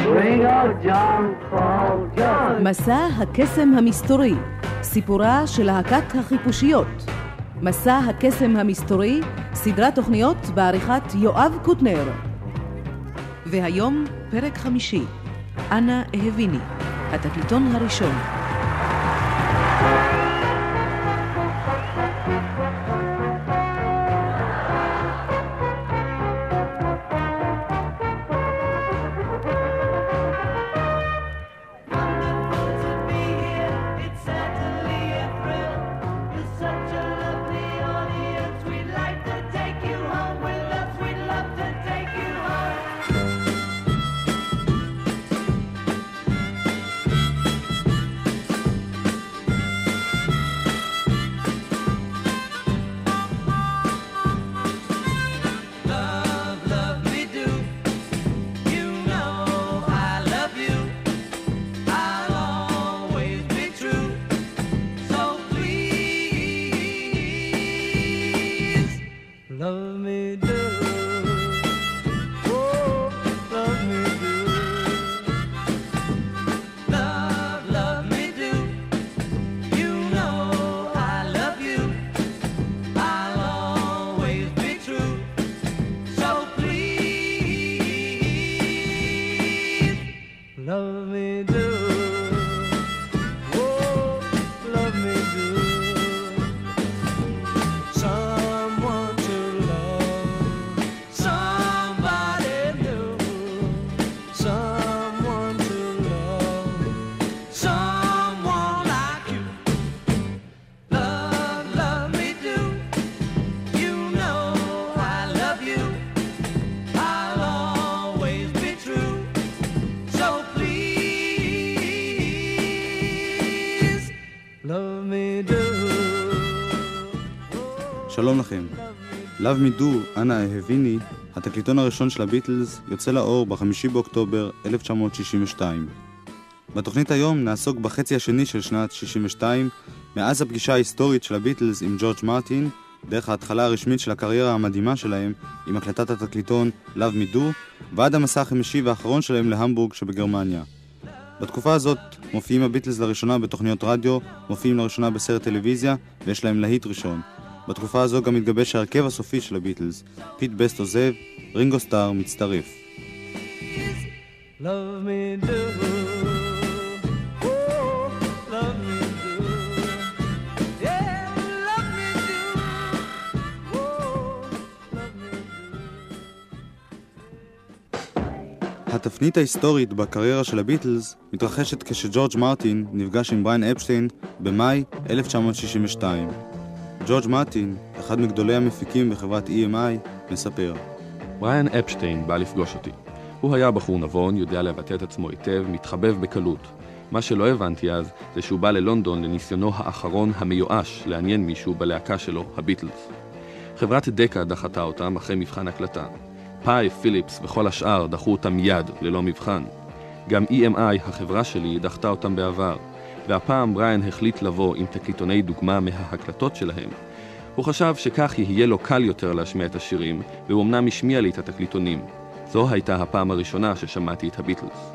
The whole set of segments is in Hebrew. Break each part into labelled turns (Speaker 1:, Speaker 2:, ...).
Speaker 1: מסע הקסם המסתורי, סיפורה של להקת החיפושיות. מסע הקסם המסתורי, סדרת תוכניות בעריכת יואב קוטנר. והיום פרק 5, אנה אהביני, התקליטון הראשון.
Speaker 2: שלום לכם. Love Me Do, אנה אהביני, התקליטון הראשון של הביטלס, יוצא לאור ב-5 באוקטובר 1962. בתוכנית היום נעסוק בחצי השני של שנת 62, מאז הפגישה ההיסטורית של הביטלס עם ג'ורג' מרטין, דרך ההתחלה הרשמית של הקריירה המדהימה שלהם עם הקלטת התקליטון Love Me Do, ועד המסע החמישי והאחרון שלהם להמבורג שבגרמניה. בתקופה הזאת מופיעים הביטלס לראשונה בתוכניות רדיו, מופיעים לראשונה בסרט טלוויזיה, ויש להם להיט ראשון. בתקופה הזו גם מתגבש ההרכב הסופי של הביטלס. פיט בסט עוזב, רינגו סטאר מצטרף. Love me do, oh, love me do, yeah, love me do, oh, love me do. התפנית ההיסטורית בקריירה של הביטלס מתרחשת כשג'ורג' מרטין נפגש עם בריין אפשטיין במאי 1962. ג'ורג' מרטין, אחד מגדולי המפיקים בחברת EMI, מספר.
Speaker 3: בריין אפשטיין בא לפגוש אותי. הוא היה בחור נבון, יודע לבטא את עצמו היטב, מתחבב בקלות. מה שלא הבנתי אז, זה שהוא בא ללונדון לניסיונו האחרון המיואש לעניין מישהו בלהקה שלו, הביטלס. חברת דקה דחתה אותם אחרי מבחן הקלטה. פאי, פיליפס וכל השאר דחו אותם מיד, ללא מבחן. גם EMI, החברה שלי, דחתה אותם בעבר. והפעם בריין החליט לבוא עם תקליטוני דוגמה מההקלטות שלהם. הוא חשב שכך יהיה לו קל יותר להשמיע את השירים, והוא אמנם השמיע לי את התקליטונים. זו הייתה הפעם הראשונה ששמעתי את הביטלס.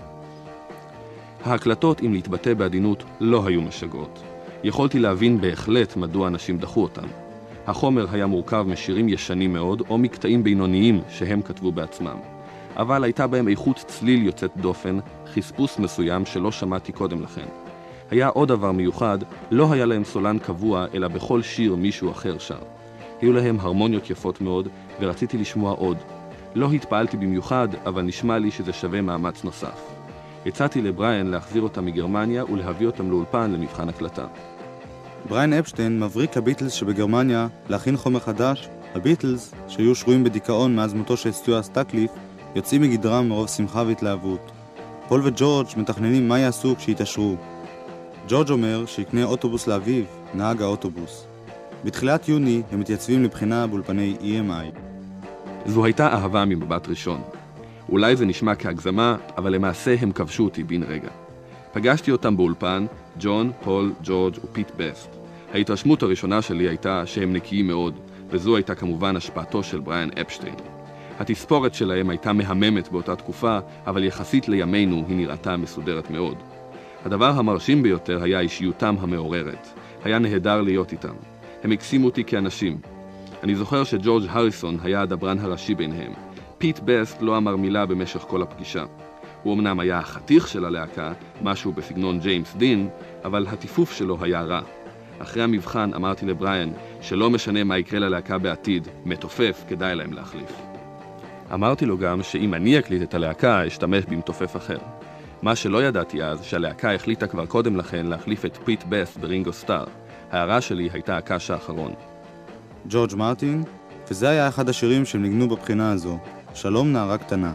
Speaker 3: ההקלטות, אם להתבטא בעדינות, לא היו משגעות. יכולתי להבין בהחלט מדוע אנשים דחו אותם. החומר היה מורכב משירים ישנים מאוד, או מקטעים בינוניים שהם כתבו בעצמם. אבל הייתה בהם איכות צליל יוצאת דופן, חספוס מסוים שלא שמעתי קודם לכן. היה עוד דבר מיוחד, לא היה להם סולן קבוע, אלא בכל שיר מישהו אחר שר. היו להם הרמוניות יפות מאוד, ורציתי לשמוע עוד. לא התפעלתי במיוחד, אבל נשמע לי שזה שווה מאמץ נוסף. הצעתי לבריין להחזיר אותם מגרמניה ולהביא אותם לאולפן למבחן הקלטה.
Speaker 2: בריין אפשטיין מבריק הביטלס שבגרמניה להכין חומר חדש. הביטלס, שהיו שרויים בדיכאון מאז מותו של סטיוארט סטקליף, יוצאים מגדרם מרוב שמחה והתלהבות. פול וג'ורג' מתכננים מה יעשו כשיתעשרו. ג'ורג' אומר שיקנה אוטובוס לאביו, נהג האוטובוס. בתחילת יוני הם מתייצבים לבחינה באולפני EMI.
Speaker 3: זו הייתה אהבה ממבט ראשון. אולי זה נשמע כהגזמה, אבל למעשה הם כבשו אותי בן רגע. פגשתי אותם באולפן, ג'ון, פול, ג'ורג' ופיט בסט. ההתרשמות הראשונה שלי הייתה שהם נקיים מאוד, וזו הייתה כמובן השפעתו של בריין אפשטיין. התספורת שלהם הייתה מהממת באותה תקופה, אבל יחסית לימינו היא נראתה מסודרת מאוד. הדבר המרשים ביותר היה אישיותם המעוררת. היה נהדר להיות איתם. הם הקסימו אותי כאנשים. אני זוכר שג'ורג' הריסון היה הדברן הראשי ביניהם. פיט בסט לא אמר מילה במשך כל הפגישה. הוא אמנם היה החתיך של הלהקה, משהו בסגנון ג'יימס דין, אבל הטיפוף שלו היה רע. אחרי המבחן אמרתי לבריאן שלא משנה מה יקרה ללהקה בעתיד, מתופף כדאי להם להחליף. אמרתי לו גם שאם אני אקליט את הלהקה, אשתמש במתופף אחר. מה שלא ידעתי אז, שהלהקה החליטה כבר קודם לכן להחליף את פיט בסט ברינגו סטאר. ההערה שלי הייתה הקש האחרון.
Speaker 2: ג'ורג' מרטין, וזה היה אחד השירים שהם ניגנו בבחינה הזו, שלום נערה קטנה.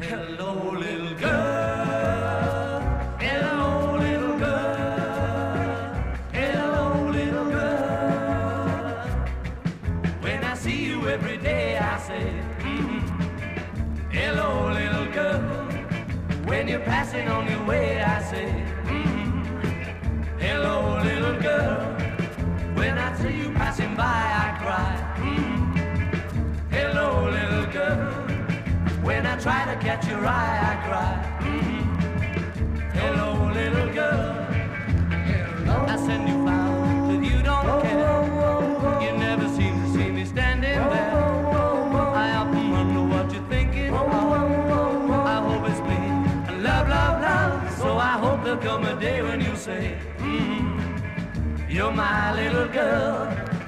Speaker 4: Passing on your way, I say, hello, little girl. When I see you passing by, I cry, hello, little girl. When I try to catch your eye, I cry, hello, little girl. I send you flowers, but you don't care. You never seem to see me standing there. I often wonder what you're thinking of. I hope it's me. Love, love, love. So I hope there'll come a day when you say, you're my little girl.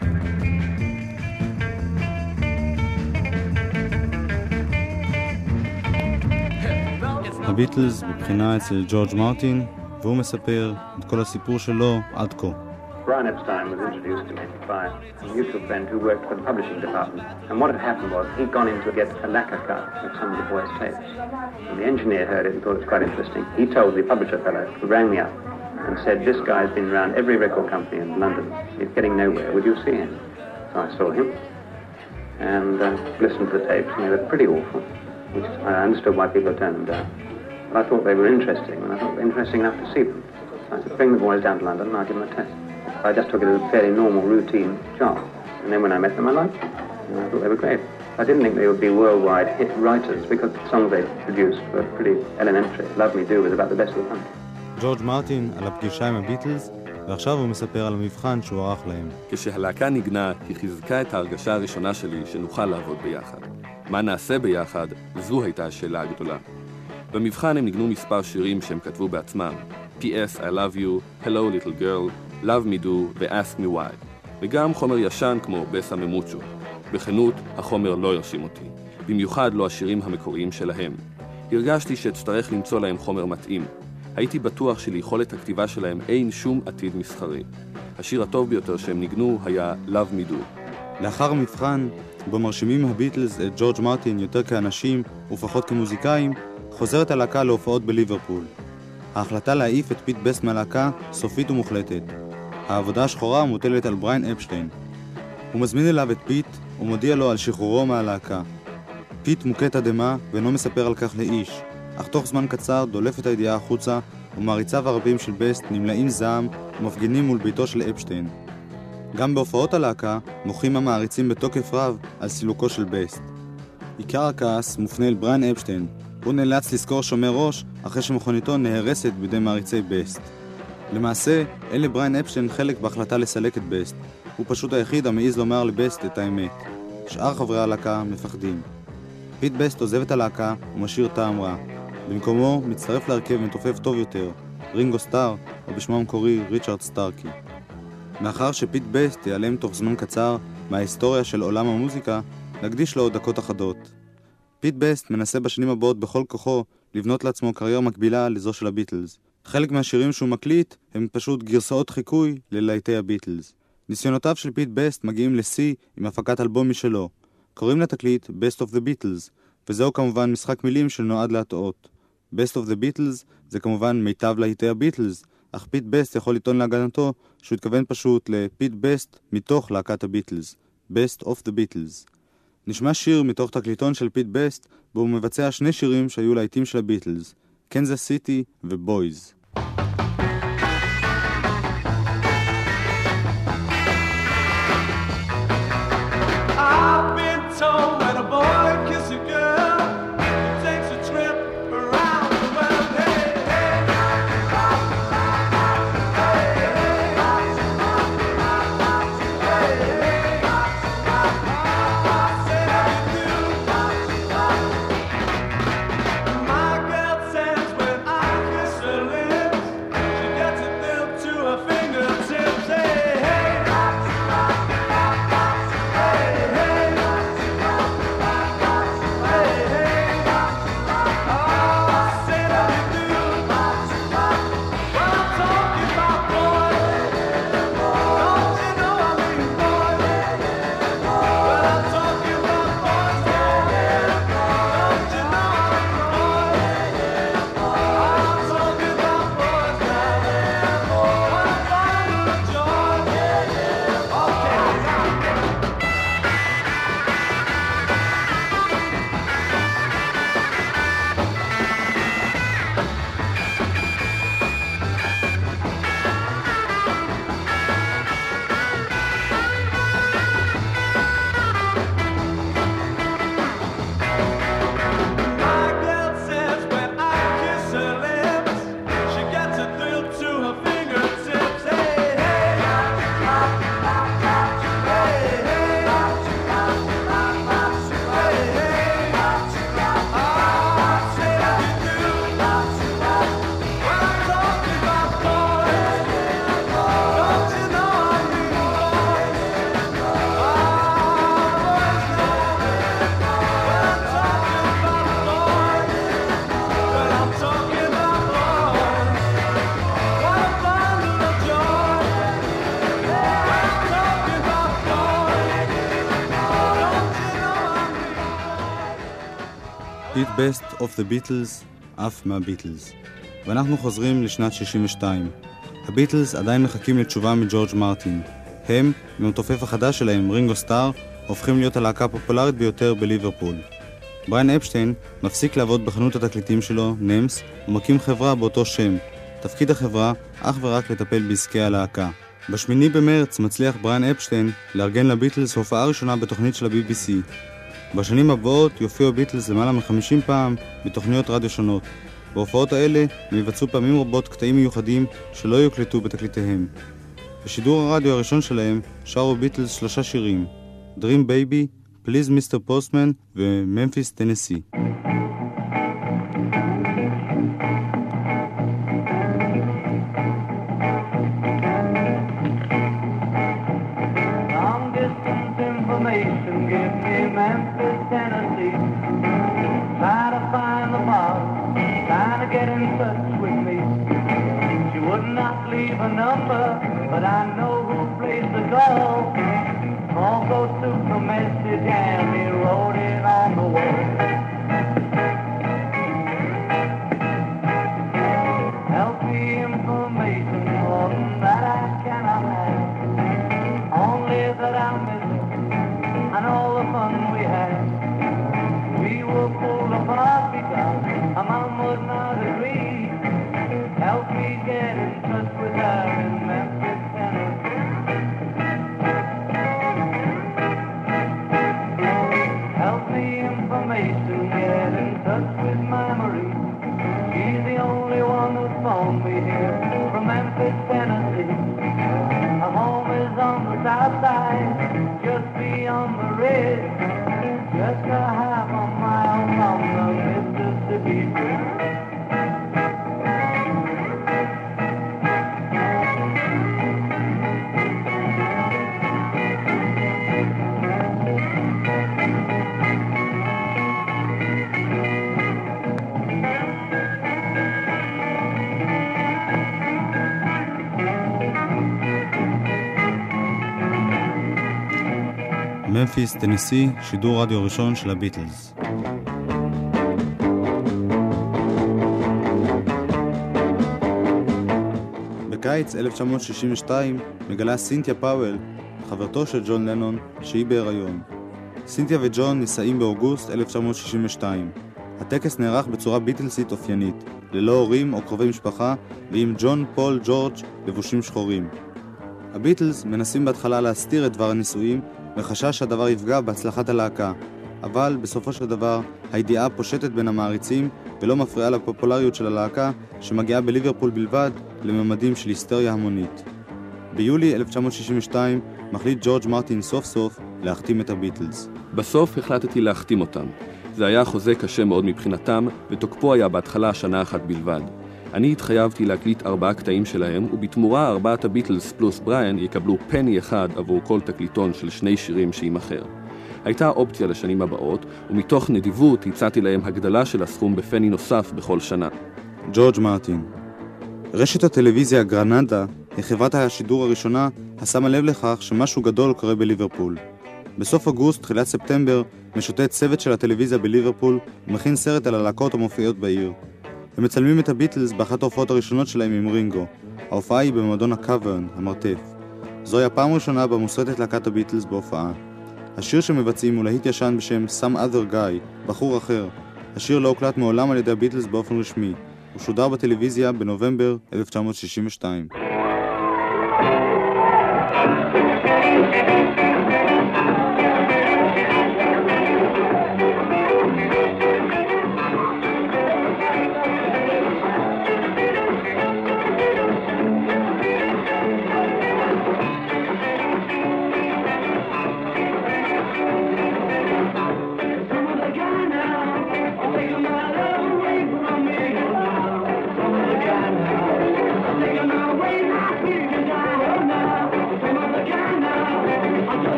Speaker 2: הביטלס בבחינה אצל ג'ורג' מרטין, והוא מספר את כל הסיפור שלו עד כה.
Speaker 5: Brian Epstein was introduced to me by a mutual friend who worked for the publishing department. And what had happened was he'd gone in to get a lacquer cut of some of the boys' tapes. And the engineer heard it and thought it was quite interesting. He told the publisher fellow, who rang me up, and said, this guy's been around every record company in London. He's getting nowhere. Would you see him? So I saw him and listened to the tapes, and they were pretty awful, which I understood why people had turned them down. But I thought they were interesting, and I thought they were interesting enough to see them. So I said, bring the boys down to London and I'll give them a test. I just took it as a fairly normal, routine job. And then when I met them, I liked them. And I thought they were great. I didn't think they would be worldwide hit writers because the songs they produced were pretty elementary. Love Me Do was about the best of the country.
Speaker 2: ג'ורג' מרטין על הפגישה עם הביטלס, ועכשיו הוא מספר על המבחן שהוא ערך להם.
Speaker 3: כשהלהקה נגנה, היא חיזקה את ההרגשה הראשונה שלי שנוכל לעבוד ביחד. מה נעשה ביחד? זו הייתה השאלה הגדולה. במבחן הם ניגנו מספר שירים שהם כתבו בעצמם. P.S. I Love You, Hello Little Girl, Love Me Do ו-Ask Me Why. וגם חומר ישן כמו בסה ממוצ'ו. בכנות, החומר לא הרשים אותי. במיוחד לא השירים המקוריים שלהם. הרגשתי שאצטרך למצוא להם חומר מתאים. הייתי בטוח שליכולת הכתיבה שלהם אין שום עתיד מסחרי. השיר הטוב ביותר שהם ניגנו היה Love Me Do.
Speaker 2: לאחר המבחן, בו מרשימים הביטלס את ג'ורג' מרטין יותר כאנשים ופחות כמוזיקאים, חוזרת הלהקה להופעות בליברפול. ההחלטה להעיף את פיט בסט מהלהקה סופית ומוחלטת. העבודה השחורה מוטלת על בריאן אפשטיין. הוא מזמין אליו את פיט ומודיע לו על שחרורו מהלהקה. פיט מוכה תדהמה ואינו מספר על כך לאיש, אך תוך זמן קצר דולף את הידיעה החוצה ומעריציו הרבים של בסט נמלאים זעם ומפגינים מול ביתו של אפשטיין. גם בהופעות הלהקה מוחים המעריצים בתוקף רב על סילוקו של בסט. עיקר הכעס מופנה אל בריאן אפשטיין. הוא נאלץ לזכור שומר ראש אחרי שמכוניתו נהרסת בידי מעריצי בסט. למעשה, אין לבריאן אפשטיין חלק בהחלטה לסלק את בסט. הוא פשוט היחיד המעיז לומר לבסט את האמת. שאר חברי הלהקה מפחדים. פיט בסט עוזב את הלהקה ומשאיר טעם רע. במקומו מצטרף להרכב מתופף טוב יותר, רינגו סטאר, או בשמו המקורי ריצ'רד סטארקי. מאחר שפיט בסט ייעלם תוך זמן קצר מההיסטוריה של עולם המוזיקה, נקדיש לו עוד דקות אחדות. פיט בסט מנסה בשנים הבאות בכל כוחו לבנות לעצמו קריירה מקבילה לזו של הביטלס. חלק מהשירים שהוא מקליט הם פשוט גרסאות חיקוי ללהיטי הביטלס. ניסיונותיו של פיט בסט מגיעים לשיא עם הפקת אלבום משלו. קוראים לתקליט Best of the Beatles, וזהו כמובן משחק מילים שנועד להטעות. Best of the Beatles זה כמובן מיטב להיטי הביטלס, אך פיט בסט יכול לטעון להגנתו שהוא התכוון פשוט לפיט בסט מתוך להקת הביטלס, Best of the Beatles. נשמע שיר מתוך תקליטון של פיט בסט, בו הוא מבצע שני שירים שהיו להיטים של הביטלס, קנזס סיטי ובויז.
Speaker 4: I've been told when a boy kisses a girl
Speaker 2: תוכנית Best of the Beatles, אף מהביטלס. ואנחנו חוזרים לשנת 62. הביטלס עדיין מחכים לתשובה מג'ורג' מרטין. הם, במתופף החדש שלהם, רינגו סטאר, הופכים להיות הלהקה הפופולרית ביותר בליברפול. בריין אפשטיין מפסיק לעבוד בחנות התקליטים שלו, נמס, ומקים חברה באותו שם. תפקיד החברה אך ורק לטפל בעסקי הלהקה. ב8 במרץ מצליח בריין אפשטיין לארגן לביטלס הופעה ראשונה בתוכנית של ה-BBC. בשנים הבאות יופיעו הביטלס למעלה מ50 פעם בתוכניות רדיו שונות. בהופעות האלה הם יבצעו פעמים רבות קטעים מיוחדים שלא יוקלטו בתקליטיהם. בשידור הרדיו הראשון שלהם שרו ביטלס 3 שירים: Dream Baby, Please Mr. Postman וממפיס טנסי.
Speaker 6: But I know who plays the call. Also took the message and he wrote it on the wall. Healthy information, more that I cannot have. Only that I miss it and all the fun we had. We were pulled apart because a mom would not agree. Help me get in touch with her in Memphis, Tennessee. Help me information, get in touch with my Marie. She's the only one who's phoned me here from Memphis, Tennessee. Her home is on the south side, just beyond the ridge, just a half a mile from the Mississippi Bridge.
Speaker 2: ממפיס, טנסי, שידור רדיו ראשון של הביטלס. בקיץ 1962 מגלה סינתיה פאוול, חברתו של ג'ון לנון, שהיא בהיריון. סינתיה וג'ון נישאים באוגוסט 1962. הטקס נערך בצורה ביטלסית אופיינית, ללא הורים או קרובי משפחה, ועם ג'ון, פול, ג'ורג' לבושים שחורים. הביטלס מנסים בהתחלה להסתיר את דבר הנישואים, וחשש שהדבר יפגע בהצלחת הלהקה, אבל בסופו של דבר הידיעה פושטת בין המעריצים ולא מפריעה לפופולריות של הלהקה שמגיעה בליברפול בלבד לממדים של היסטריה המונית. ביולי 1962 מחליט ג'ורג' מרטין סוף סוף להחתים את הביטלס.
Speaker 3: בסוף החלטתי להחתים אותם. זה היה חוזה קשה מאוד מבחינתם, ותוקפו היה בהתחלה שנה אחת בלבד. אני התחייבתי להקליט 4 קטעים שלהם, ובתמורה 4 הביטלס פלוס בריאן יקבלו פני אחד עבור כל תקליטון של 2 שירים שימחר. הייתה אופציה לשנים הבאות, ומתוך נדיבות הצעתי להם הגדלה של הסכום בפני נוסף בכל שנה.
Speaker 2: ג'ורג' מרטין. רשת הטלוויזיה גרנדה היא חברת השידור הראשונה השמה לב לכך שמשהו גדול קורה בליברפול. בסוף אוגוסט, תחילת ספטמבר, משוטט צוות של הטלוויזיה בליברפול ומכין סרט על הלהקות המופיעות בעיר. הם מצלמים את הביטלס באחת ההופעות הראשונות שלהם עם רינגו. ההופעה היא במועדון הקאברן, המרתף. זוהי הפעם הראשונה בה מוסרטת להקת הביטלס בהופעה. השיר שמבצעים הוא להיט ישן בשם Some Other Guy, בחור אחר. השיר לא הוקלט מעולם על ידי הביטלס באופן רשמי. הוא שודר בטלוויזיה בנובמבר 1962.
Speaker 6: Take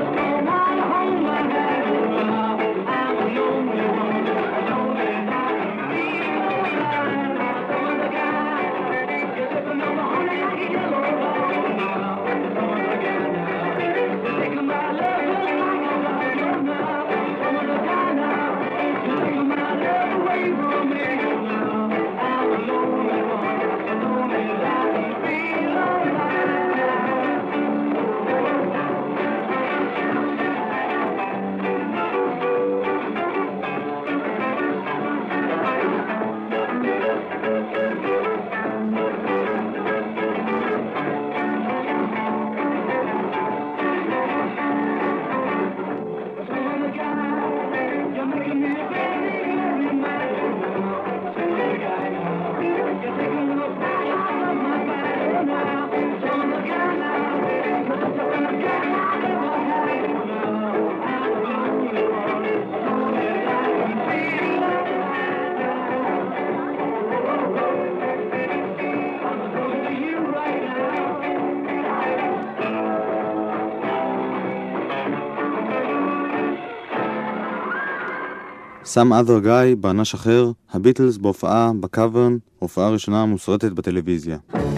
Speaker 2: Some Other Guy, בענש אחר, הביטלס בהופעה בקאברן, הופעה ראשונה מוסרטת בטלוויזיה.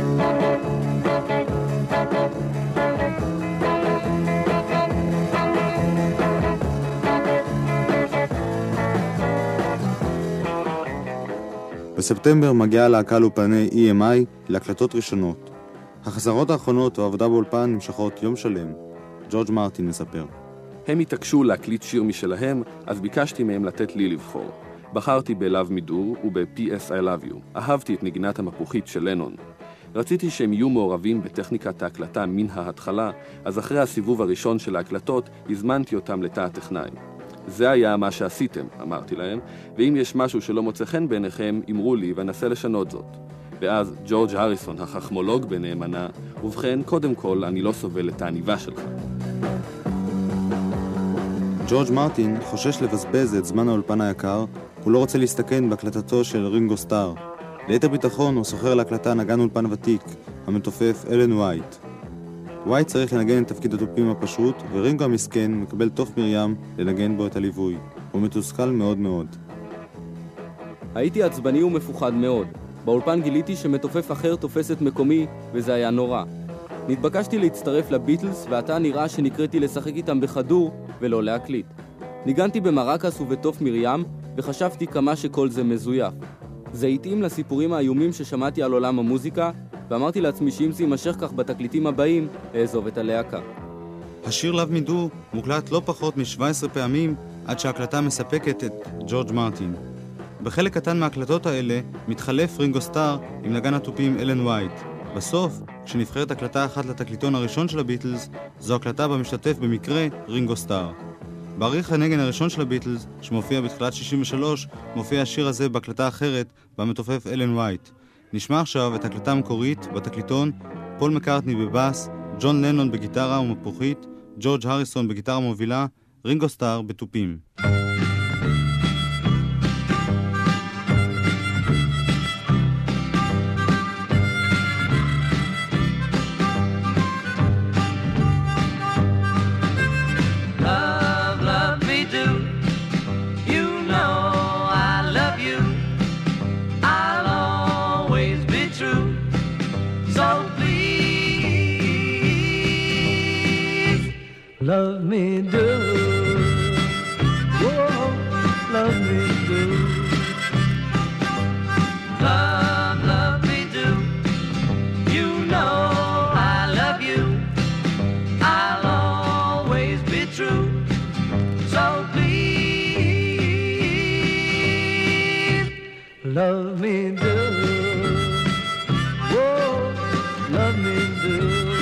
Speaker 2: בספטמבר מגיעה להקה לאולפני EMI להקלטות ראשונות. החזרות האחרונות והעבודה באולפן נמשכות יום שלם. ג'ורג' מרטין מספר.
Speaker 3: הם התעקשו להקליט שיר משלהם, אז ביקשתי מהם לתת לי לבחור. בחרתי ב-Love Me Do וב-P.S. I Love You. אהבתי את נגינת המפוחית של לנון. רציתי שהם יהיו מעורבים בטכניקת ההקלטה מן ההתחלה, אז אחרי הסיבוב הראשון של ההקלטות הזמנתי אותם לתא הטכנאי. זה היה מה שעשיתם, אמרתי להם, ואם יש משהו שלא מוצא חן בעיניכם, אמרו לי ואנסה לשנות זאת. ואז ג'ורג' הריסון, החכמולוג בנאמנה, ובכן, קודם כל, אני לא סובל את העניבה שלך.
Speaker 2: ג'ורג' מרטין חושש לבזבז את זמן האולפן היקר, הוא לא רוצה להסתכן בהקלטתו של רינגו סטאר. ליתר ביטחון הוא סוחר להקלטה נגן אולפן ותיק, המתופף אלן ווייט. ווייט צריך לנגן את תפקיד התופים הפשוט, ורינגו המסכן מקבל תוף מרים לנגן בו את הליווי. הוא מתוסכל מאוד מאוד.
Speaker 7: הייתי עצבני ומפוחד מאוד. באולפן גיליתי שמתופף אחר תופס את מקומי, וזה היה נורא. נתבקשתי להצטרף לביטלס, ועתה נראה שנקראתי לשחק איתם בחדור ולא להקליט. ניגנתי במרקס ובתוף מרים, וחשבתי כמה שכל זה מזויף. זה התאים לסיפורים האיומים ששמעתי על עולם המוזיקה, ואמרתי לעצמי שאם זה יימשך כך בתקליטים הבאים, לעזוב את הלהקה.
Speaker 2: השיר Love Me Do מוקלט לא פחות מ-17 פעמים עד שההקלטה מספקת את ג'ורג' מרטין. בחלק קטן מההקלטות האלה מתחלף רינגו סטאר עם נגן התופים אלן ווייט. בסוף, כשנבחרת הקלטה אחת לתקליטון הראשון של הביטלס, זו הקלטה בה משתתף במקרה רינגו סטאר. בעריך הנגן הראשון של הביטלס, שמופיע בתחילת 63, מופיע השיר הזה בהקלטה אחרת, בה מתופף אלן ווייט. נשמע עכשיו את הקלטה המקורית בתקליטון, פול מקארטני בבאס, ג'ון לנון בגיטרה ומפוחית, ג'ורג' הריסון בגיטרה מובילה, רינגו סטאר בתופים.
Speaker 6: Love me do, whoa, love me do. Love me do. You know I love you. I'll always be true. So please, love me do, whoa, love me do.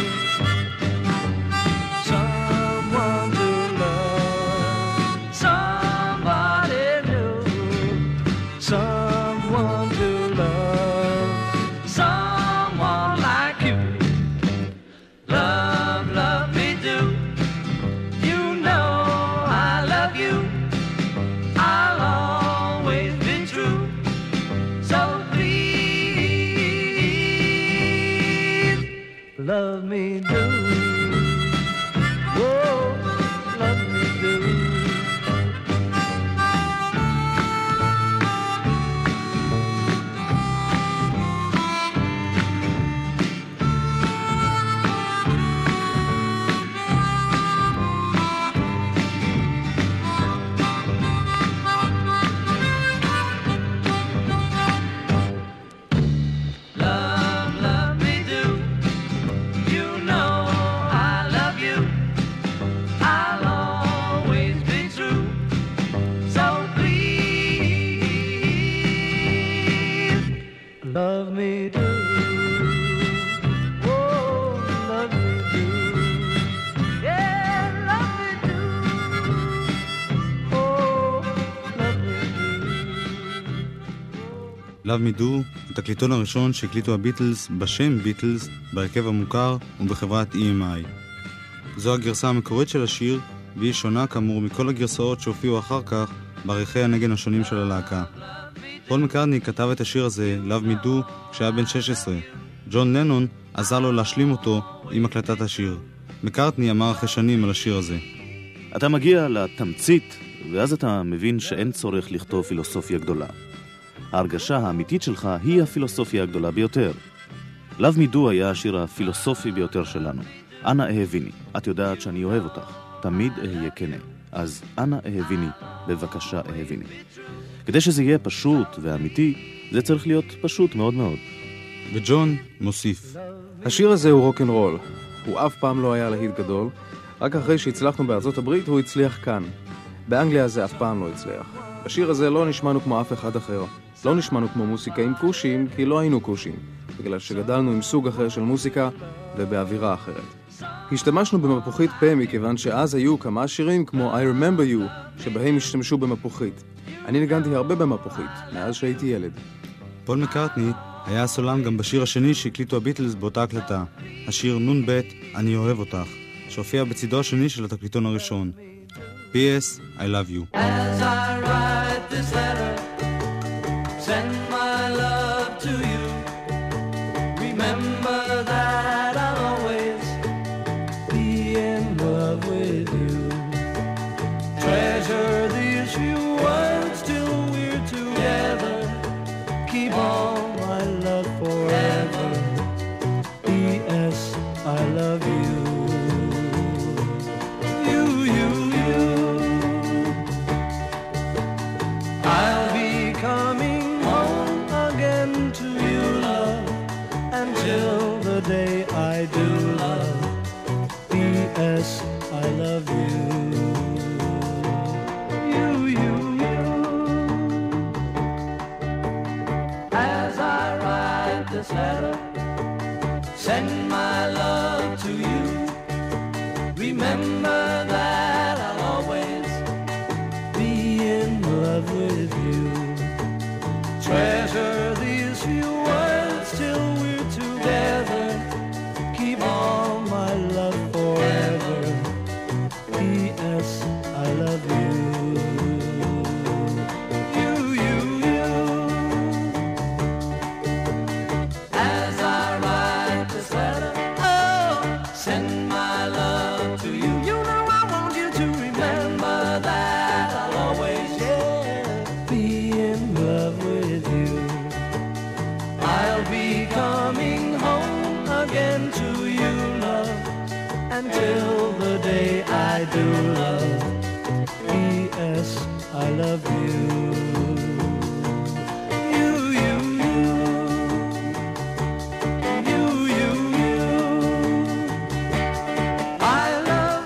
Speaker 6: Love me do, whoa, love me do. Love me do, oh, love me do, yeah, love me do, oh, love me do.
Speaker 2: Love Me Do, התקליטון הראשון שהקליטו הביטלס בשם ביטלס, בהרכב המוכר ובחברת EMI. זו הגרסה המקורית של השיר, והיא שונה כאמור מכל הגרסאות שהופיעו אחר כך בעריכי הנגן השונים של הלהקה. פול מקארטני כתב את השיר הזה, Love Me Do, כשהיה בן 16. ג'ון לנון עזר לו להשלים אותו עם הקלטת השיר. מקארטני אמר אחרי שנים על השיר הזה.
Speaker 8: אתה מגיע לתמצית, ואז אתה מבין שאין צורך לכתוב פילוסופיה גדולה. ההרגשה האמיתית שלך היא הפילוסופיה הגדולה ביותר. Love Me Do היה השיר הפילוסופי ביותר שלנו. אנא אהביני, את יודעת שאני אוהב אותך, תמיד אהיה כנה. אז אנא אהביני, בבקשה אהביני. כדי שזה יהיה פשוט ואמיתי, זה צריך להיות פשוט מאוד מאוד.
Speaker 2: וג'ון מוסיף.
Speaker 9: השיר הזה הוא רוק'נ'רול. הוא אף פעם לא היה להיט גדול. רק אחרי שהצלחנו בארצות הברית הוא הצליח כאן. באנגליה זה אף פעם לא הצליח. השיר הזה לא נשמענו כמו אף אחד אחר. לא נשמענו כמו מוסיקה עם קושים, כי לא היינו קושים. בגלל שגדלנו עם סוג אחר של מוסיקה ובאווירה אחרת. השתמשנו במפוחית פה מכיוון שאז היו כמה שירים כמו I Remember You שבהם השתמשו במפוחית. אני ניגנתי הרבה במפוחית, מאז שהייתי ילד.
Speaker 2: פול מקרטני היה הסולן גם בשיר השני שהקליטו הביטלס באותה הקלטה, השיר נון בית אני אוהב אותך, שהופיע בצידו השני של התקליטון הראשון. P.S. I love you.
Speaker 4: As I write this letter, send my love to you. Remember that I'll always be in love with you. Treasure these few words till we're together. Keep all my love forever. P.S. I love you. I'll be coming home again to you, love, until the day I do, love. P.S. I love you. You. As I write this letter, send my love to you. Remember that I'll always be in love with you. Treasure these few words till we're together. Keep all my love forever. P.S. I love you. You. As I write this letter, oh, send my love to you. You know I want you to remember that I'll always, be in love with you. I'll be coming home again to you, love, until the day I do, love. P.S. I love you. I love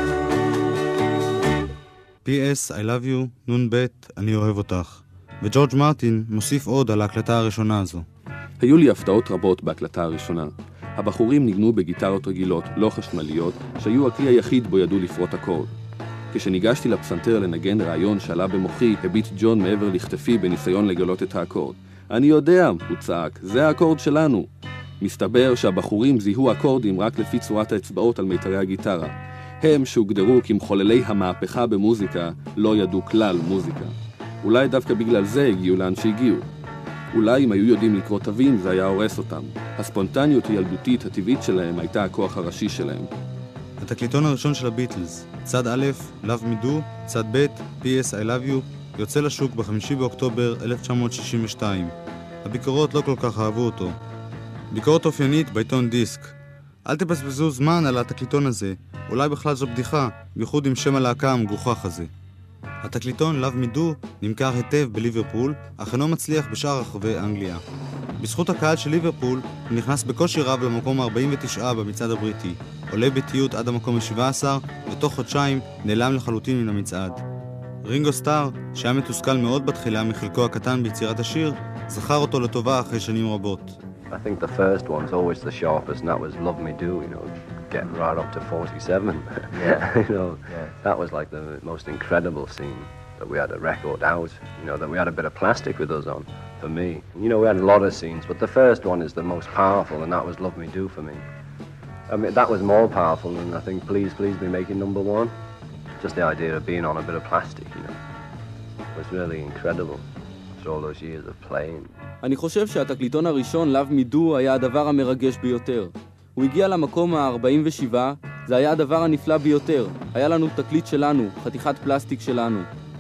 Speaker 4: you.
Speaker 2: P.S. I love you, נון בית, אני אוהב אותך. וג'ורג' מרטין מוסיף עוד על ההקלטה הראשונה הזו.
Speaker 3: היו לי הפתעות רבות בהקלטה הראשונה. הבחורים ניגנו בגיטרות רגילות, לא חשמליות, שהיו הכלי היחיד בו ידעו לפרוט אקורד. כשניגשתי לפסנתר לנגן רעיון שעלה במוחי, הביט ג'ון מעבר לכתפי בניסיון לגלות את האקורד. אני יודע, הוא צעק, זה האקורד שלנו. מסתבר שהבחורים זיהו אקורדים רק לפי צורת האצבעות על מיתרי הגיטרה. הם שהוגדרו כמחוללי המהפכה במוזיקה, לא ידעו כלל מוזיקה. אולי דווקא בגלל זה הגיעו לאן שהגיעו. אולי אם היו יודעים לקרוא תווים זה היה הורס אותם. הספונטניות הילדותית הטבעית שלהם הייתה הכוח הראשי שלהם.
Speaker 2: התקליטון הראשון של הביטלס, צד א', Love Me Do, צד ב', P.S. I Love You, יוצא לשוק ב5 באוקטובר 1962. הביקורות לא כל כך אהבו אותו. ביקורת אופיינית בעיתון דיסק. אל תבזבזו זמן על התקליטון הזה, אולי בכלל זו בדיחה, בייחוד עם שם הלהקה המגוחך הזה. התקליטון Love Me Do נמכר היטב בליברפול, אך אינו מצליח בשאר רחבי אנגליה. בזכות הקהל של ליברפול, הוא נכנס בקושי רב למקום ה-49 במצעד הבריטי, עולה בתיות עד המקום ה-17, ותוך חודשיים נעלם לחלוטין מן המצעד. רינגו סטאר, שהיה מתוסכל מאוד בתחילה מחלקו הקטן ביצירת השיר, זכר אותו לטובה אחרי שנים רבות.
Speaker 10: I think the first one's always the sharpest, and that was Love Me Do, you know, getting right up to 47. You know, that was like the most incredible scene, that we had a record out, you know, that we had a bit of plastic with us on, for me. You know, we had a lot of scenes, but the first one is the most powerful, and that was Love Me Do for me. I mean, that was more powerful than I think Please, Please Be making number one. Just the idea of being on a bit of plastic, you know, was really incredible. After all those years of playing.
Speaker 7: אני חושב שהתקליטון הראשון, Love Me Do, היה הדבר המרגש ביותר. הוא הגיע למקום ה-47, זה היה הדבר הנפלא ביותר. היה לנו תקליט שלנו, חתיכת פלסטיק שלנו.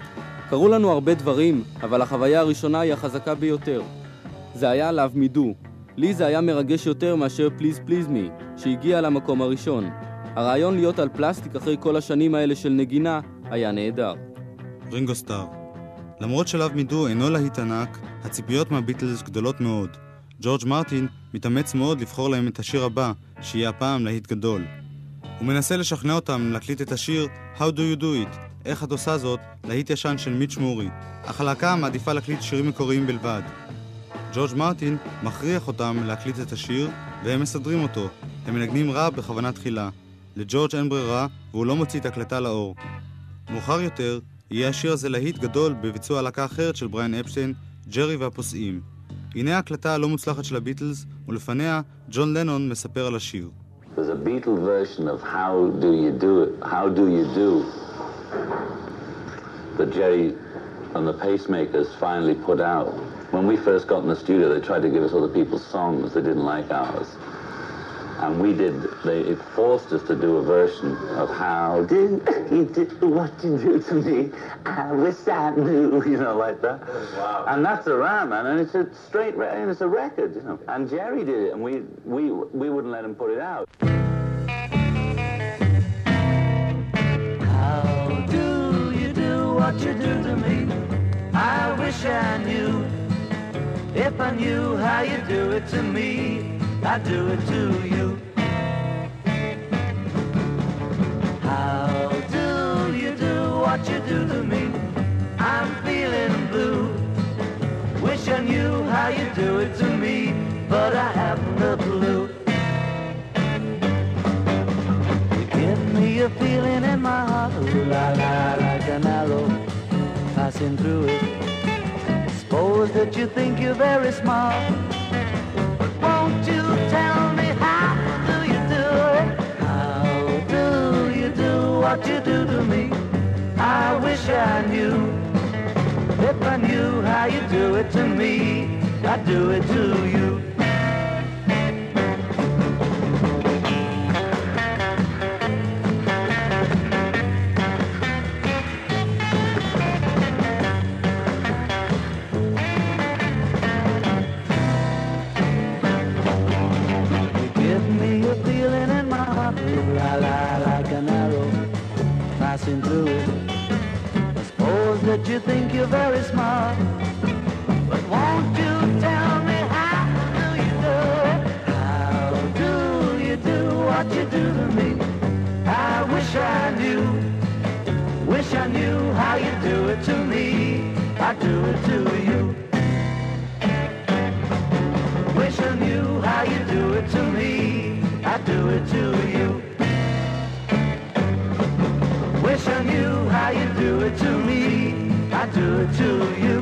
Speaker 7: קראו לנו הרבה דברים, אבל החוויה הראשונה היא החזקה ביותר. זה היה Love Me Do. לי זה היה מרגש יותר מאשר Please Please Me, שהגיע למקום הראשון. הרעיון להיות על פלסטיק אחרי כל השנים האלה של נגינה היה נהדר.
Speaker 2: רינגו סטאר. למרות שלאב מידו אינו להיט ענק, הציפיות מהביטלס גדולות מאוד. ג'ורג' מרטין מתאמץ מאוד לבחור להם את השיר הבא, שיהיה הפעם להיט גדול. הוא מנסה לשכנע אותם להקליט את השיר How Do You Do It, איך את עושה זאת, להיט ישן של מיץ' מורי. אך הלהקה מעדיפה להקליט שירים מקוריים בלבד. ג'ורג' מרטין מכריח אותם להקליט את השיר, והם מסדרים אותו. הם מנגנים רע בכוונה תחילה. לג'ורג' אין ברירה, והוא לא מוציא את הקלטה לאור. מאוחר יותר, יהיה השיר הזה להיט גדול בביצוע להקה אחרת של בריאן אפשטיין, ג'רי והפוסעים. הנה ההקלטה הלא מוצלחת של הביטלס, ולפניה ג'ון לנון מספר על השיר.
Speaker 11: There's a Beatle version of How Do You Do It, How Do You Do, that Jerry and the Pacemakers finally put out. When we first got in the studio, they tried to give us other people's songs. They didn't like ours. And it forced us to do a version of How Do You Do What You Do to Me, I Wish I Knew, you know, like that. Wow. And that's around, man, and it's a straight, and it's a record, you know. And Jerry did it, and we wouldn't let him put it out.
Speaker 6: How do you do what you do to me? I wish I knew. If I knew how you do it to me, I'd do it to you. How do you do what you do to me? I'm feeling blue. Wish I knew how you do it to me, but I haven't a clue. You give me a feeling in my heart, ooh la la, like an arrow passing through it. Suppose that you think you're very smart, but won't you tell me how do you do it? How do you do what you do to me? I wish I knew. If I knew how you do it to me, I'd do it to you. Through it. I suppose that you think you're very smart, but won't you tell me how do you do it? How do you do what you do to me? I wish I knew how you do it to me. I'd do it to you. Wish I knew how you do it to me. I'd do it to you. Wish I knew how you do it to me, I do it to you.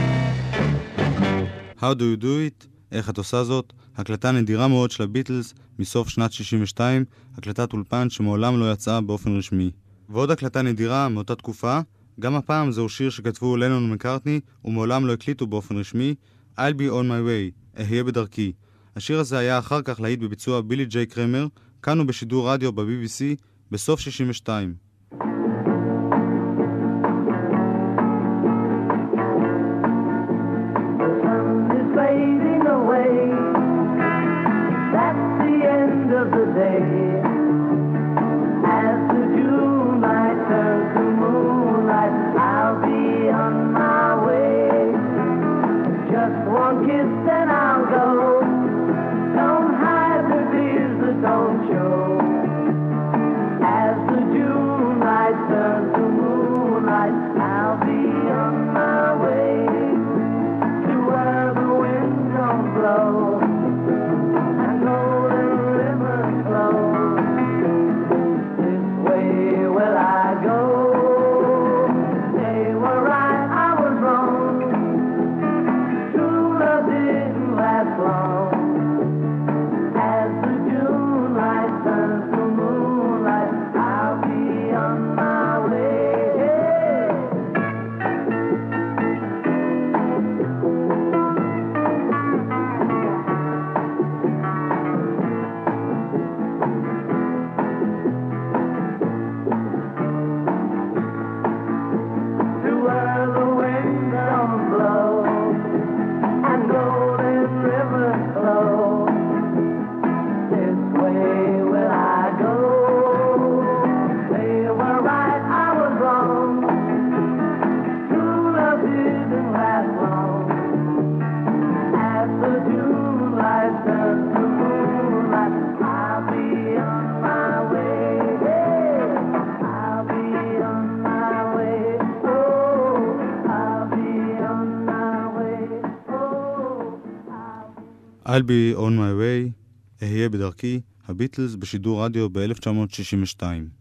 Speaker 2: How do you do it? איך את עושה זאת? הקלטה נדירה מאוד של הביטלס מסוף שנת 62, הקלטת אולפן שמעולם לא יצאה באופן רשמי. ועוד הקלטה נדירה מאותה תקופה, גם הפעם זהו שיר שכתבו לנון ומקארטני ומעולם לא הקליטו באופן רשמי, I'll be on my way, אהיה בדרכי. השיר הזה היה אחר כך להיט בביצוע בילי ג'יי קרמר, כאן הוא בשידור רדיו ב-BBC בסוף 62.
Speaker 6: Don't show as the June
Speaker 2: I'll be on my way, אהיה בדרכי, הביטלס בשידור רדיו ב-1962.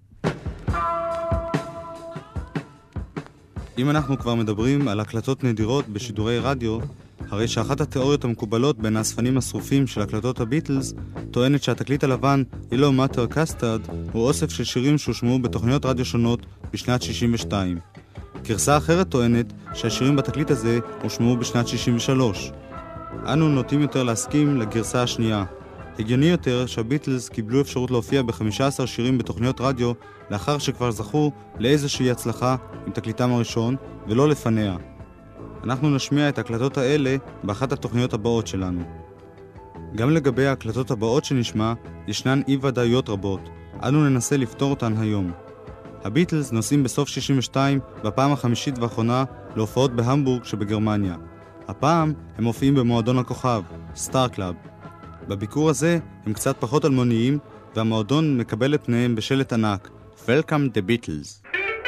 Speaker 2: אם אנחנו כבר מדברים על הקלטות נדירות בשידורי רדיו, הרי שאחת התיאוריות המקובלות בין האספנים השרופים של הקלטות הביטלס טוענת שהתקליט הלבן Yellow Matter Custard הוא אוסף של שירים שהושמעו בתוכניות רדיו שונות בשנת 62. גרסה אחרת טוענת שהשירים בתקליט הזה הושמעו בשנת 63. אנו נוטים יותר להסכים לגרסה השנייה. הגיוני יותר שהביטלס קיבלו אפשרות להופיע ב-15 שירים בתוכניות רדיו לאחר שכבר זכו לאיזושהי הצלחה עם תקליטם הראשון ולא לפניה. אנחנו נשמיע את ההקלטות האלה באחת התוכניות הבאות שלנו. גם לגבי ההקלטות הבאות שנשמע, ישנן אי-ודאיות רבות. אנו ננסה לפתור אותן היום. הביטלס נוסעים בסוף 62 בפעם החמישית ואחרונה להופעות בהמבורג שבגרמניה. הפעם הם מופיעים במועדון הכוכב, סטאר קלאב. בביקור הזה הם קצת פחות אלמוניים, והמועדון מקבל את פניהם בשלט ענק, Welcome the Beatles.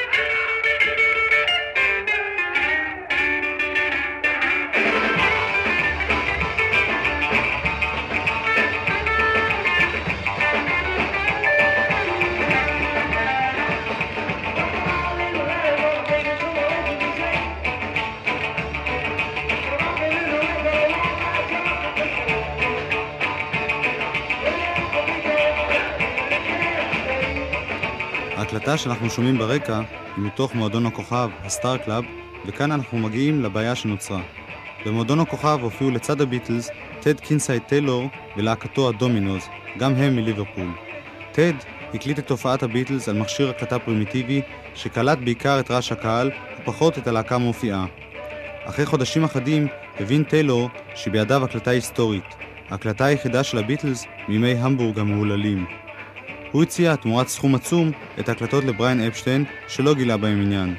Speaker 2: ההקלטה שאנחנו שומעים ברקע היא מתוך מועדון הכוכב, הסטאר קלאב, וכאן אנחנו מגיעים לבעיה שנוצרה. במועדון הכוכב הופיעו לצד הביטלס טד קינסאי טיילור ולהקתו הדומינוז, גם הם מליברפול. טד הקליט את תופעת הביטלס על מכשיר הקלטה פרימיטיבי שקלט בעיקר את רעש הקהל ופחות את הלהקה מופיעה. אחרי חודשים אחדים הבין טיילור שבידיו הקלטה היסטורית, ההקלטה היחידה של הביטלס מימי המבורג המהוללים. הוא הציע תמורת סכום עצום את ההקלטות לבריין אפשטיין שלא גילה בהם עניין.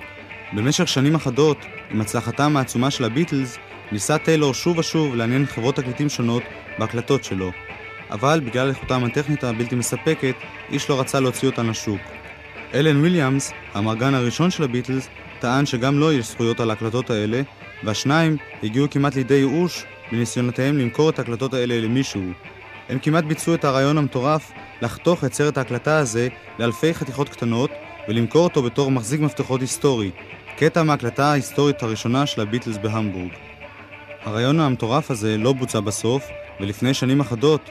Speaker 2: במשך שנים אחדות, עם הצלחתם העצומה של הביטלס, ניסה טיילור שוב ושוב לעניין חברות תקליטים שונות בהקלטות שלו, אבל בגלל איכותם הטכנית הבלתי מספקת, איש לא רצה להוציא אותן לשוק. אלן וויליאמס, המרגן הראשון של הביטלס, טען שגם לו יש זכויות על ההקלטות האלה, והשניים הגיעו כמעט לידי ייאוש בניסיונותיהם למכור את ההקלטות האלה למישהו. הם כמעט ביצעו את הרעיון המטורף לחתוך את סרט ההקלטה הזה לאלפי חתיכות קטנות ולמכור אותו בתור מחזיק מפתחות היסטורי, קטע מההקלטה ההיסטורית הראשונה של הביטלס בהמבורג. הרעיון המטורף הזה לא בוצע בסוף, ולפני שנים אחדות,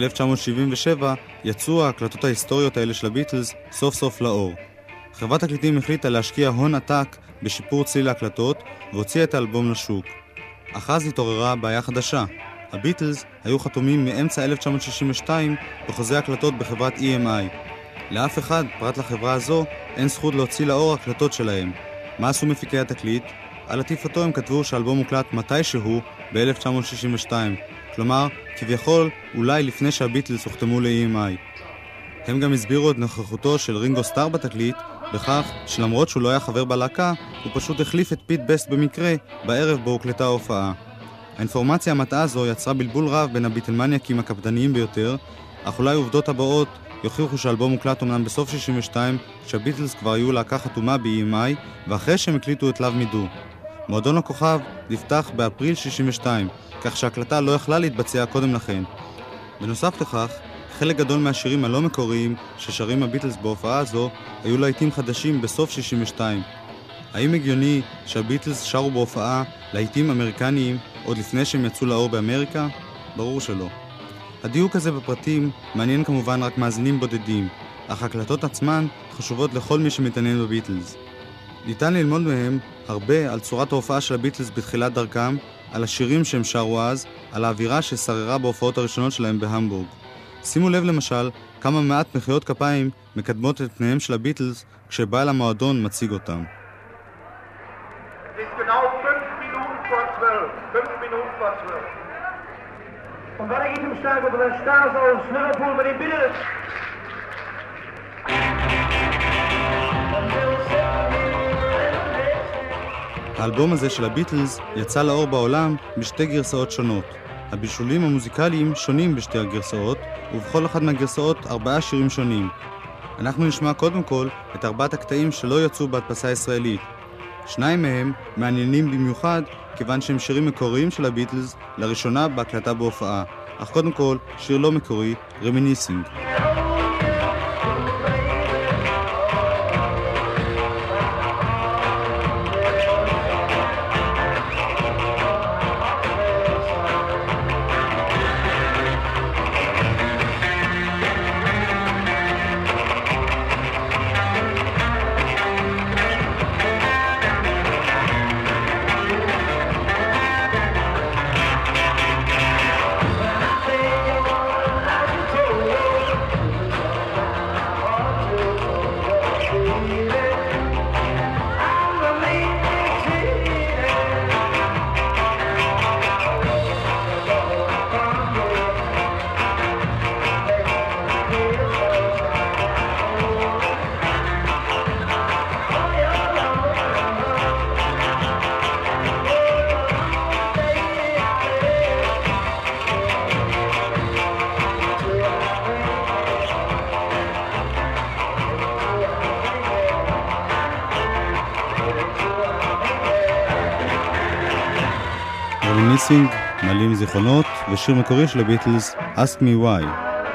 Speaker 2: ב-1977, יצאו ההקלטות ההיסטוריות האלה של הביטלס סוף סוף לאור. חברת תקליטים החליטה להשקיע הון עתק בשיפור צליל ההקלטות והוציאה את האלבום לשוק. אך אז התעוררה בעיה חדשה. הביטלס היו חתומים מאמצע 1962 בחוזה הקלטות בחברת EMI. לאף אחד, פרט לחברה הזו, אין זכות להוציא לאור הקלטות שלהם. מה עשו מפיקי התקליט? על עטיפתו הם כתבו שהאלבום מוקלט מתישהו ב-1962, כלומר, כביכול, אולי לפני שהביטלס הוחתמו ל-EMI. הם גם הסבירו את נוכחותו של רינגו סטאר בתקליט, בכך שלמרות שהוא לא היה חבר בלהקה, הוא פשוט החליף את פיט בסט במקרה בערב בו הוקלטה ההופעה. האינפורמציה המטעה הזו יצרה בלבול רב בין הביטלמניאקים הקפדניים ביותר, אך אולי עובדות הבאות יוכיחו שהאלבום מוקלט אומנם בסוף 62, כשהביטלס כבר היו להקה חתומה ב-EMI, ואחרי שהם הקליטו את Love Me Do. מועדון הכוכב נפתח באפריל 62, כך שההקלטה לא יכלה להתבצע קודם לכן. בנוסף לכך, חלק גדול מהשירים הלא מקוריים ששרים הביטלס בהופעה הזו היו להיטים חדשים בסוף 62. האם הגיוני שהביטלס שרו בהופעה להיטים אמריקניים עוד לפני שהם יצאו לאור באמריקה? ברור שלא. הדיוק הזה בפרטים מעניין כמובן רק מאזינים בודדים, אך הקלטות עצמן חשובות לכל מי שמתעניין בביטלס. ניתן ללמוד מהם הרבה על צורת ההופעה של הביטלס בתחילת דרכם, על השירים שהם שרו אז, על האווירה ששררה בהופעות הראשונות שלהם בהמבורג. שימו לב למשל כמה מעט מחיאות כפיים מקדמות את פניהם של הביטלס כשבעל המועדון מציג אותם.
Speaker 6: Und wenn ich ihm sage, du wirst da so ins Liverpool mit dem Bild.
Speaker 2: האלבום הזה של הביטלס יצא לאור בעולם בשתי גרסאות שונות. הבישולים המוזיקליים שונים בשתי הגרסאות, ובכל אחת מהגרסאות 4 שירים שונים. אנחנו נשמע קודם כל את 4 הקטעים שלא יצאו בהדפסה הישראלית. שניים מהם מעניינים במיוחד כיוון שהם שירים מקוריים של הביטלס לראשונה בהקלטה בהופעה, אך קודם כל שיר לא מקורי, רמיניסינג. רמיניסינג, מעלים זיכרונות, ושיר מקורי של הביטלס, Ask Me Why.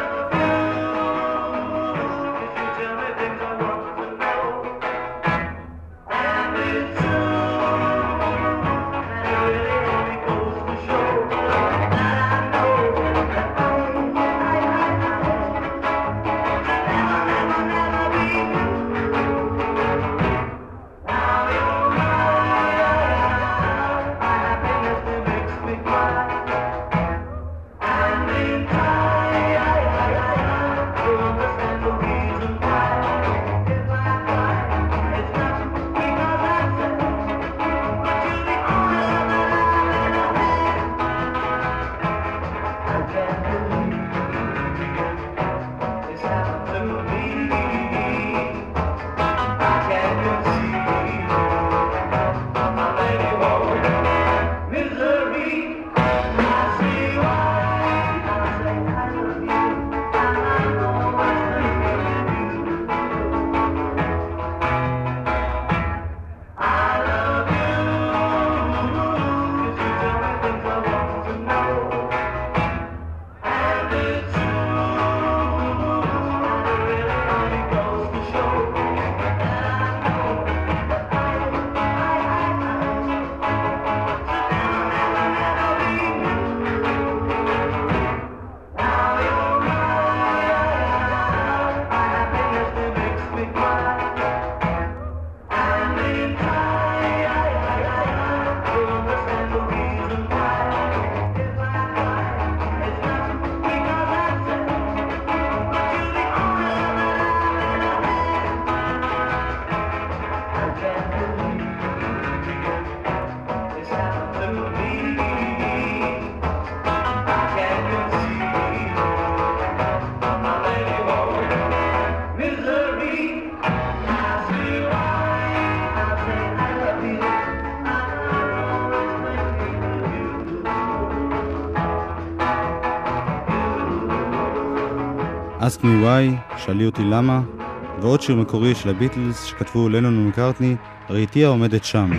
Speaker 2: Ask Me Why, שאלי אותי למה, ועוד שיר מקורי של הביטלס שכתבו לנון ומקארטני, ראיתי העומדת שם.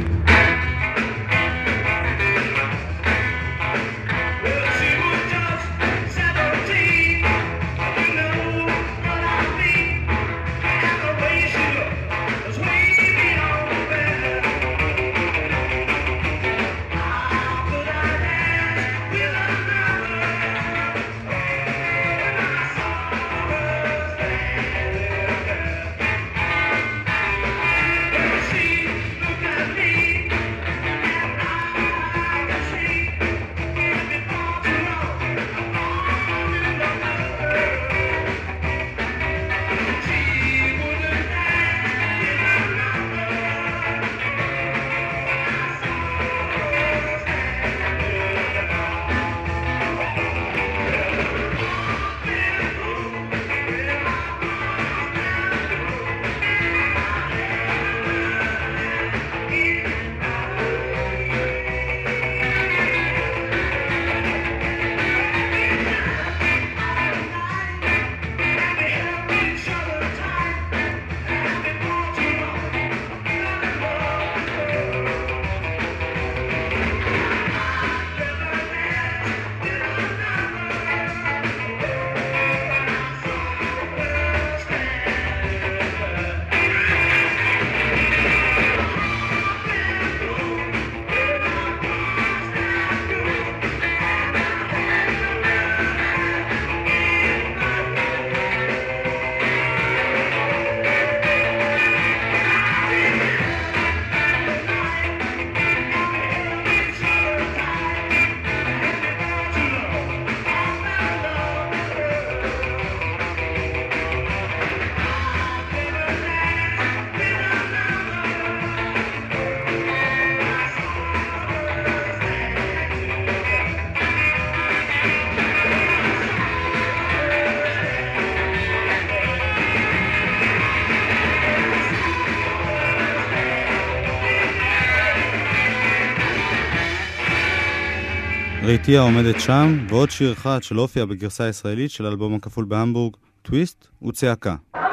Speaker 6: Look at me.
Speaker 2: ראיתי העומדת שם, ועוד שיר אחד שלא הופיע בגרסה הישראלית של האלבום הכפול בהמבורג, טוויסט וצעקה.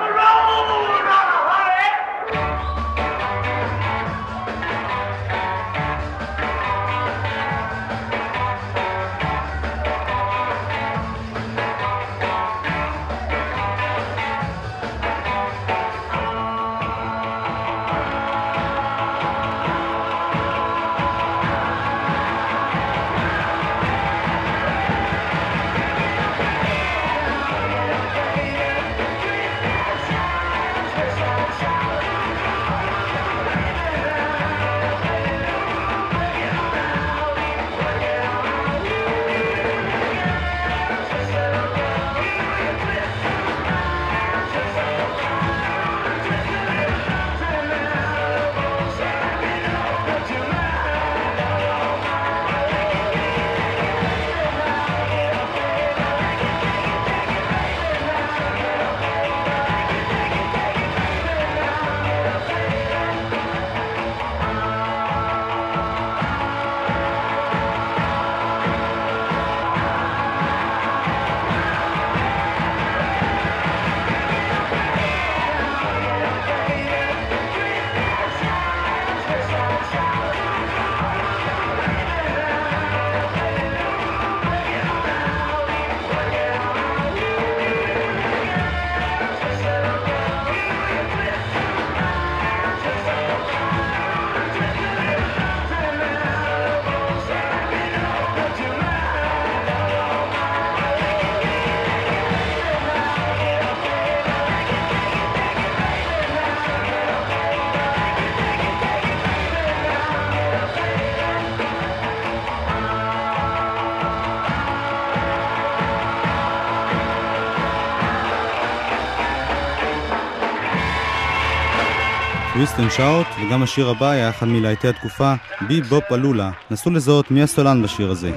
Speaker 2: טוויסט אנד שאוט, וגם השיר הבא היה אחד מלהיטי התקופה, בי בופ אלולה. נסו לזהות מי הסולן בשיר הזה.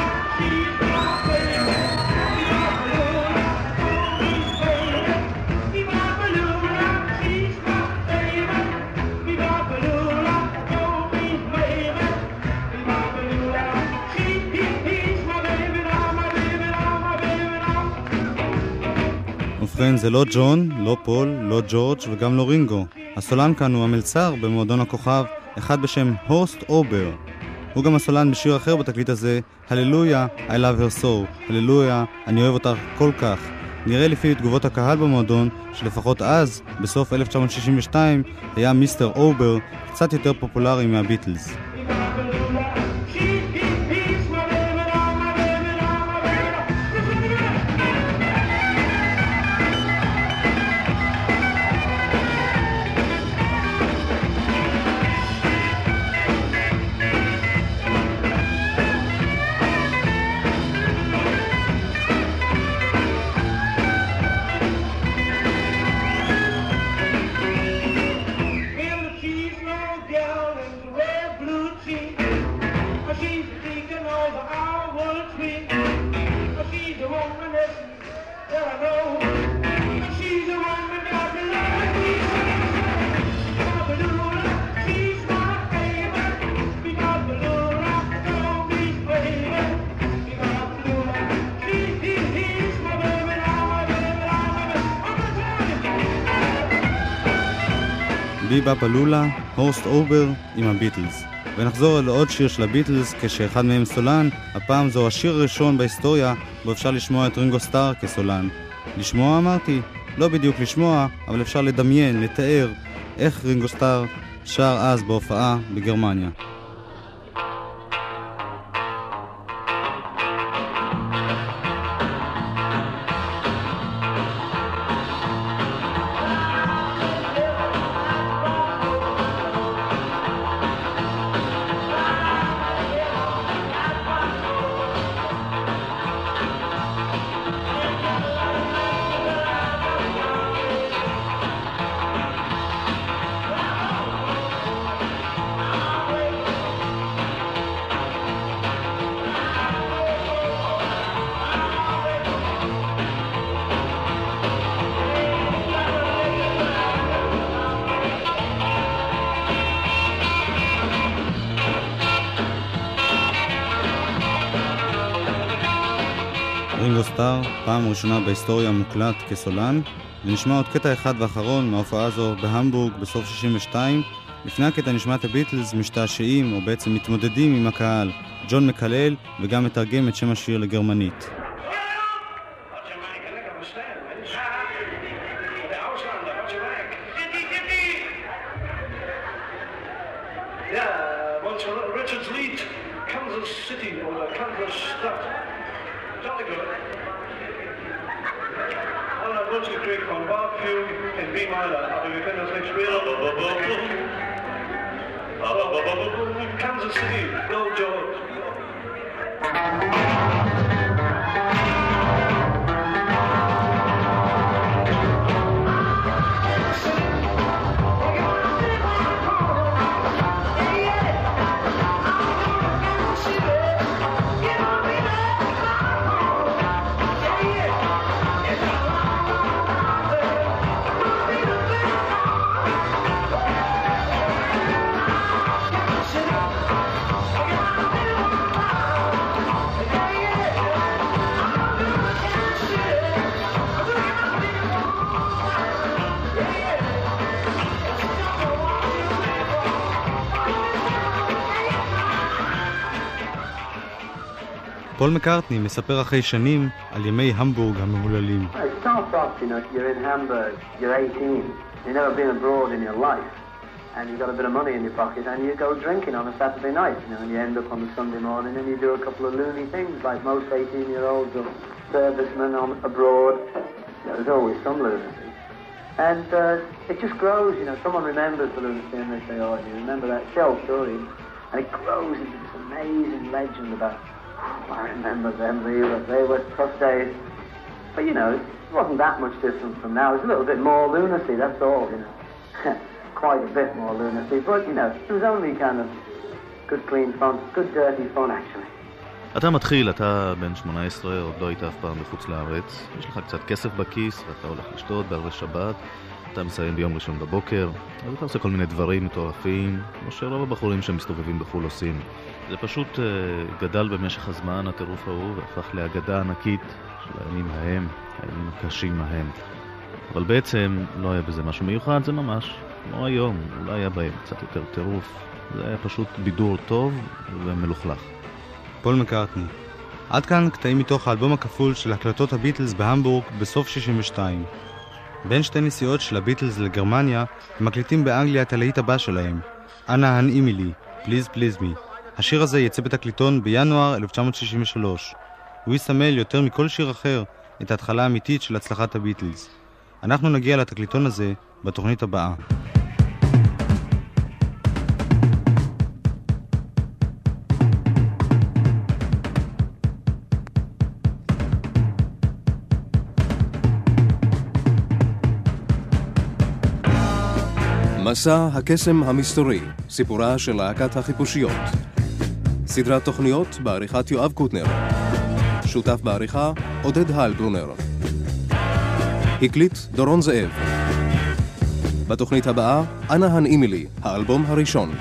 Speaker 2: ובכן, זה לא ג'ון, לא פול, לא ג'ורג' וגם לא רינגו. הסולן כאן הוא המלצר במועדון הכוכב, אחד בשם הורסט אובר. הוא גם הסולן בשיר אחר בתקליט הזה, הללויה, I love her so, הללויה, אני אוהב אותך כל כך. נראה לפי תגובות הקהל במועדון, שלפחות אז, בסוף 1962, היה מיסטר אובר קצת יותר פופולרי מהביטלס. בי בופ אלולה, הורסט אובר עם הביטלס. ונחזור לעוד שיר של הביטלס כשאחד מהם סולן. הפעם זו השיר הראשון בהיסטוריה בו אפשר לשמוע את רינגו סטאר כסולן. לשמוע אמרתי? לא בדיוק לשמוע, אבל אפשר לדמיין, לתאר איך רינגו סטאר שר אז בהופעה בגרמניה. מוכר, פעם ראשונה בהיסטוריה מוקלט כסולן, ונשמע עוד קטע אחד ואחרון מההופעה הזו בהמבורג בסוף 62. לפני הקטע נשמע את הביטלס משתעשעים, או בעצם מתמודדים עם הקהל. ג'ון מקלל וגם מתרגם את שם השיר לגרמנית.
Speaker 12: Kansas City, go George.
Speaker 2: פול מקארטני מספר אחרי שנים על ימי המבורג המהוללים.
Speaker 5: It starts off, you're in Hamburg, you're 18, you've never been abroad in your life, and you've got a bit of money in your pocket, and you go drinking on a Saturday night, and you end up on a Sunday morning, and you do a couple of loony things, like most 18-year-olds or servicemen abroad. There's always some lunacy. And it just grows, someone remembers the lunacy, and they say, oh, you remember that show story? And it grows into this amazing legend about, I remember them, they were tough days. But, it wasn't that much different from now. It was a little bit more lunacy, that's all, Quite a bit more lunacy. But, it was only kind of good, clean fun, good, dirty fun, actually.
Speaker 8: אתה מתחיל, אתה בן 18, עוד לא היית אף פעם בחוץ לארץ. יש לך קצת כסף בכיס, ואתה הולך לשתות בערבי שבת. אתה מסיים ביום ראשון בבוקר, אז אתה עושה כל מיני דברים מטורפים, כמו שרוב הבחורים שמסתובבים בחול עושים. זה פשוט גדל במשך הזמן, הטירוף ההוא, והפך להגדה ענקית של הימים ההם, הימים הקשים ההם. אבל בעצם לא היה בזה משהו מיוחד, זה ממש כמו היום, אולי היה בהם קצת יותר טירוף. זה היה פשוט בידור טוב ומלוכלך.
Speaker 2: פול מקארטני. עד כאן קטעים מתוך האלבום הכפול של הקלטות הביטלס בהמבורג בסוף 62. בין שתי נסיעות של הביטלס לגרמניה, הם מקליטים באנגליה את הלהיט הבא שלהם, אנא הנעימי לי, פליז פליז מי. השיר הזה יצא בתקליטון בינואר 1963. הוא יסמל יותר מכל שיר אחר את ההתחלה האמיתית של הצלחת הביטלס. אנחנו נגיע לתקליטון הזה בתוכנית הבאה.
Speaker 9: מסע הקסם המסתורי, סיפורה של להקת החיפושיות. סדרת תוכניות בעריכת יואב קוטנר. שותף בעריכה עודד הלברונר. הקליט דורון זאב. בתוכנית הבאה, אנא הנעימי לי, האלבום הראשון.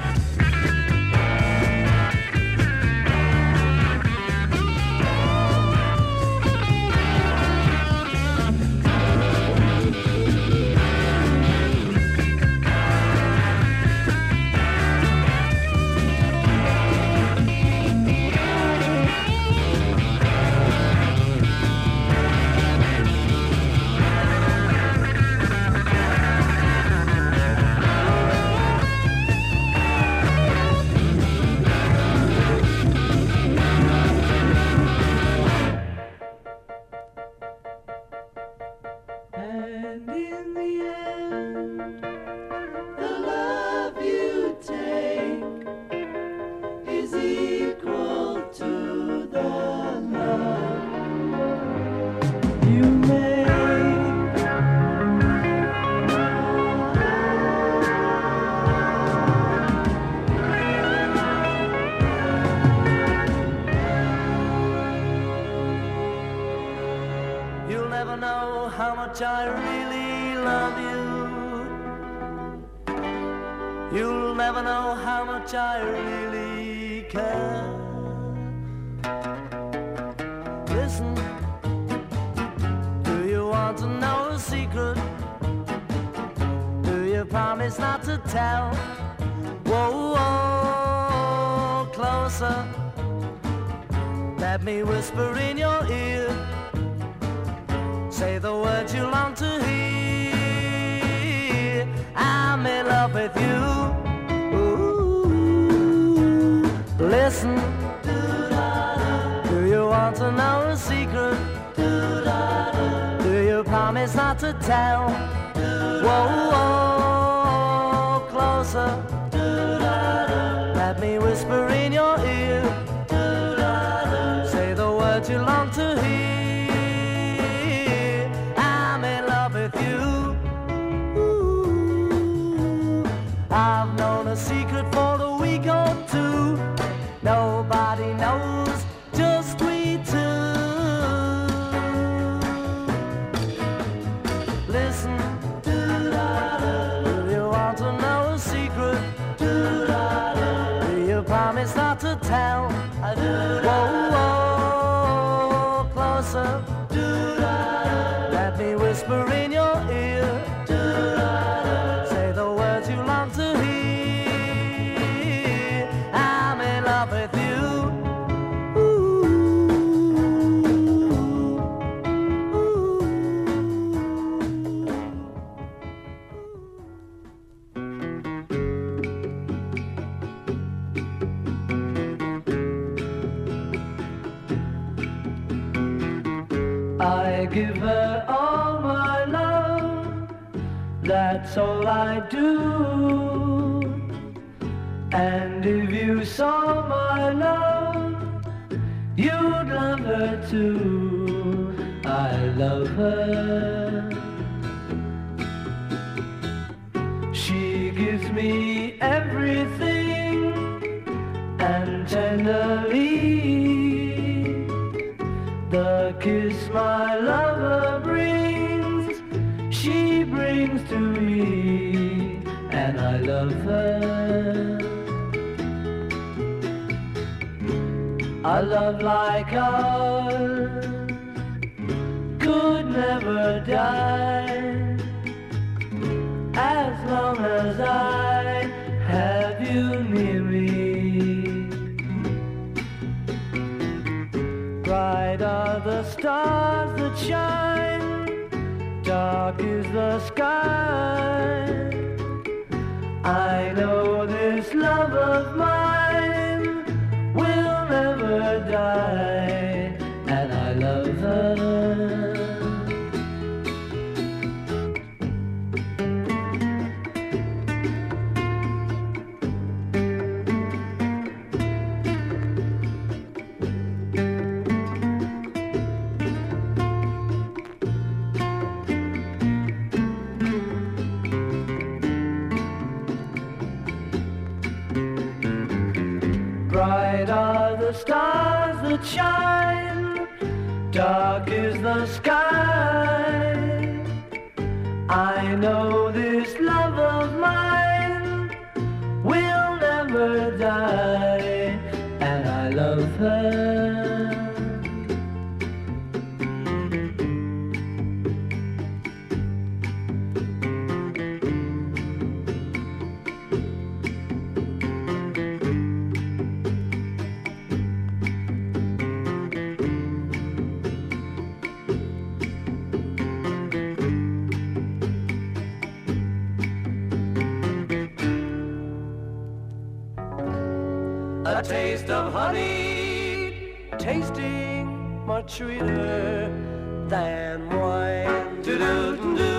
Speaker 4: I really love you. You'll never know how much I really care. Listen,
Speaker 13: promise not to tell. Whoa, whoa, closer. Let me whisper in your ear. Say the words you long to hear. I'm in love with you. Ooh, listen. Do you want to know a secret? Do you promise not to tell? Whoa, whoa, closer. Let me whisper in your ear. Say the words you long to hear. I'm in love with you. Ooh, I've known a secret for a week or two. Nobody knows, just we two. Listen, do you want to know a secret? Do you promise not to tell? Whoa, whoa, closer. Let me whisper in your ear. Say the words you long to hear. I'm in love with you.
Speaker 6: I give her all my love, that's all I do. And if you saw my love, you'd love her too. I love her. She gives me everything, and tenderly the kiss my lover brings, she brings to me, and I love her. A love like ours could never die, as long as I have you near me. Bright are the stars that shine, dark is the sky. I know this love of mine will never die, and I love her. Bright are the stars that shine, dark is the sky. I know this love of mine will never die, and I love her. A taste of honey, tasting much sweeter than wine. Do-do-do-do,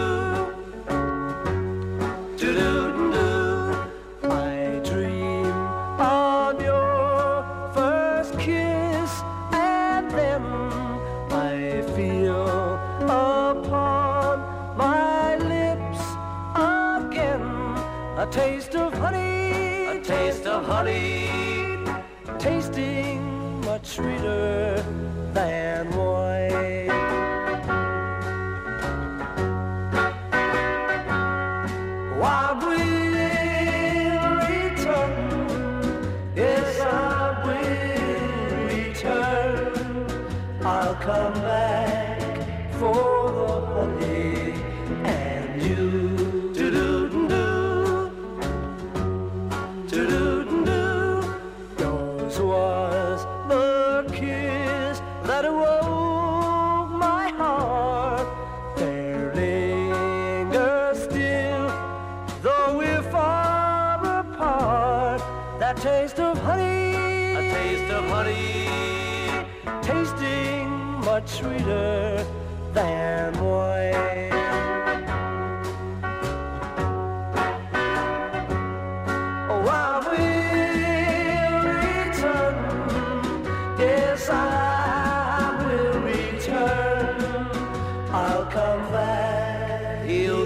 Speaker 6: do-do-do-do. I dream on your first kiss, and then I feel upon my lips again a taste of honey, a taste of honey, tasting much sweeter than wine. I will return, yes I will return. I'll come back for the honey and you. Do-do-do-do.
Speaker 13: much sweeter than wine. Oh, I will return. Yes, I will return. I'll come back. He'll